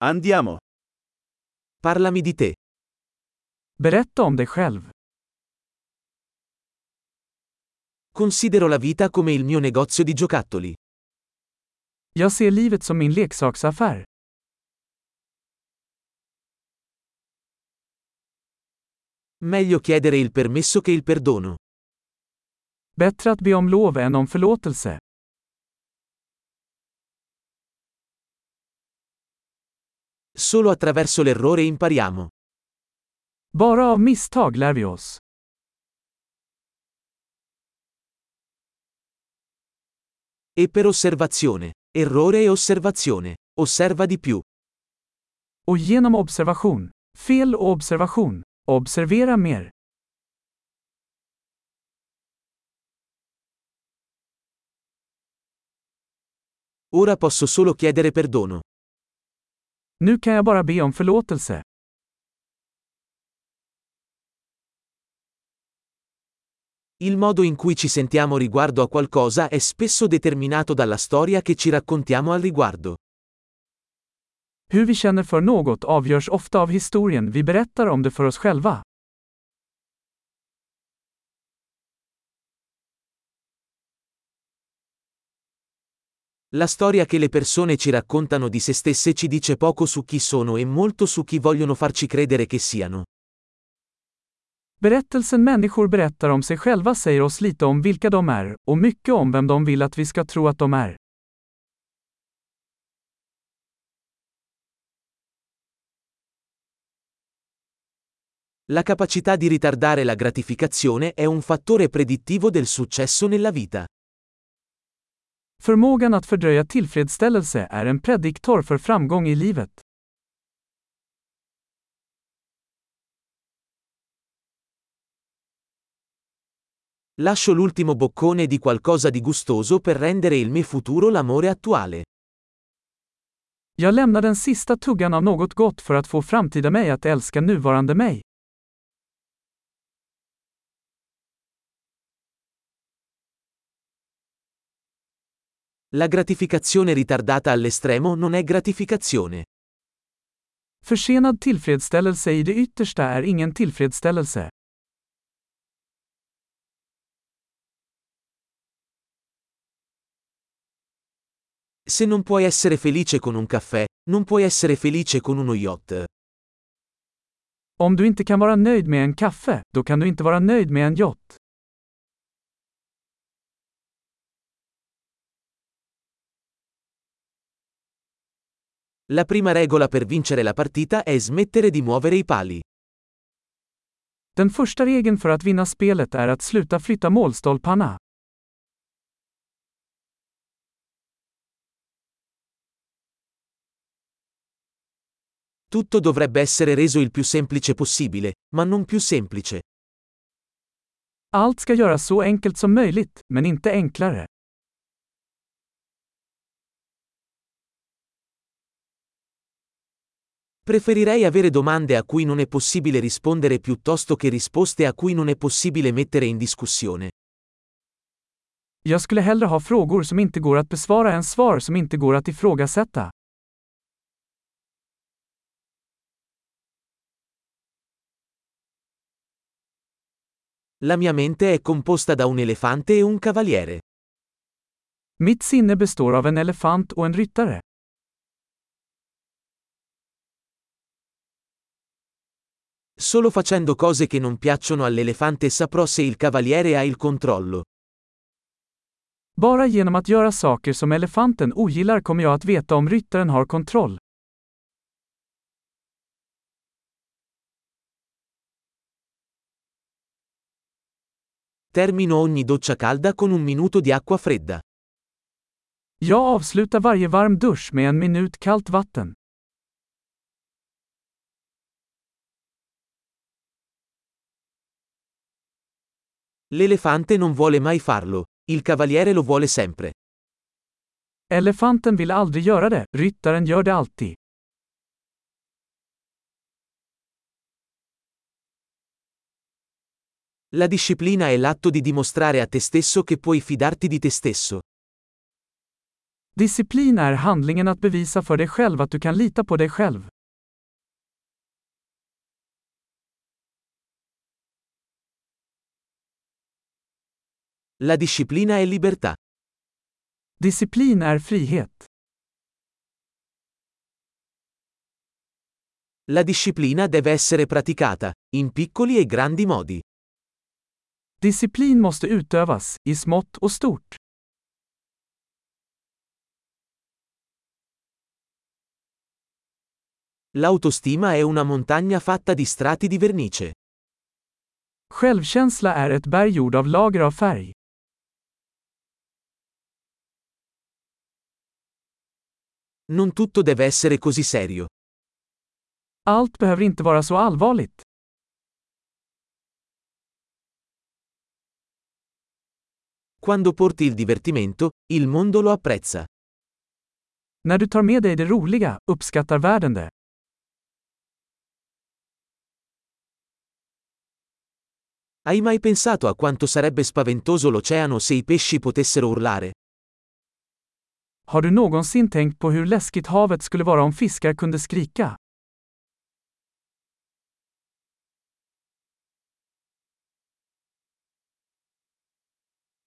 Andiamo. Parlami di te. Berätta om dig själv. Considero la vita come il mio negozio di giocattoli. Jag ser livet som min leksaksaffär. Meglio chiedere il permesso che il perdono. Bättre att be om lov än om förlåtelse. Solo attraverso l'errore impariamo. Bara av misstag lär vi oss. E per osservazione. Errore e osservazione. Osserva di più. Och genom observation. Fel och observation. Observera mer. Ora posso solo chiedere perdono. Nu kan jag bara be om förlåtelse. Il modo in cui ci sentiamo riguardo a qualcosa è spesso determinato dalla storia che ci raccontiamo al riguardo. Hur vi känner för något avgörs ofta av historien vi berättar om det för oss själva. La storia che le persone ci raccontano di se stesse ci dice poco su chi sono e molto su chi vogliono farci credere che siano. Berättelsen människor berättar om sig själva säger oss lite om vilka de är, och mycket om vem de vill att vi ska tro att de är. La capacità di ritardare la gratificazione è un fattore predittivo del successo nella vita. Förmågan att fördröja tillfredsställelse är en prediktor för framgång i livet. Lascio l'ultimo boccone di qualcosa di gustoso per rendere il mio futuro l'amore attuale. Jag lämnar den sista tuggan av något gott för att få framtida mig att älska nuvarande mig. La gratificazione ritardata all'estremo non è gratificazione. Försenad tillfredsställelse i det yttersta är ingen tillfredsställelse. Se non puoi essere felice con un caffè, non puoi essere felice con uno yacht. Om du inte kan vara nöjd med en kaffe, då kan du inte vara nöjd med en yacht. La prima regola per vincere la partita è smettere di muovere i pali. Den första regeln för att vinna spelet är att sluta flytta målstolparna. Tutto dovrebbe essere reso il più semplice possibile, ma non più semplice. Allt ska göras så enkelt som möjligt, men inte enklare. Preferirei avere domande a cui non è possibile rispondere piuttosto che risposte a cui non è possibile mettere in discussione. Jag skulle hellre ha frågor som inte går att besvara än svar som inte går att ifrågasätta. La mia mente è composta da un elefante e un cavaliere. Mitt sinne består av en elefant och en ryttare. Solo facendo cose che non piacciono all'elefante saprò se il cavaliere ha il controllo. Bara genom att göra saker som elefanten ogillar kommer jag att veta om ryttaren har kontroll. Termino ogni doccia calda con un minuto di acqua fredda. Jag avslutar varje varm dusch med en minut kallt vatten. L'elefante non vuole mai farlo, il cavaliere lo vuole sempre. Elefanten vill aldrig göra det, ryttaren gör det alltid. La disciplina è l'atto di dimostrare a te stesso che puoi fidarti di te stesso. Disciplin är handlingen att bevisa för dig själv att du kan lita på dig själv. La disciplina è libertà. Disciplin är frihet. La disciplina deve essere praticata, in piccoli e grandi modi. Disciplin måste utövas, i smått och stort. L'autostima è una montagna fatta di strati di vernice. Självkänsla är ett berg gjord av lager av färg. Non tutto deve essere così serio. Allt behöver inte vara så allvarligt. Quando porti il divertimento, il mondo lo apprezza. När du tar med dig det roliga, uppskattar världen det. Hai mai pensato a quanto sarebbe spaventoso l'oceano se i pesci potessero urlare? Har du någonsin tänkt på hur läskigt havet skulle vara om fiskar kunde skrika?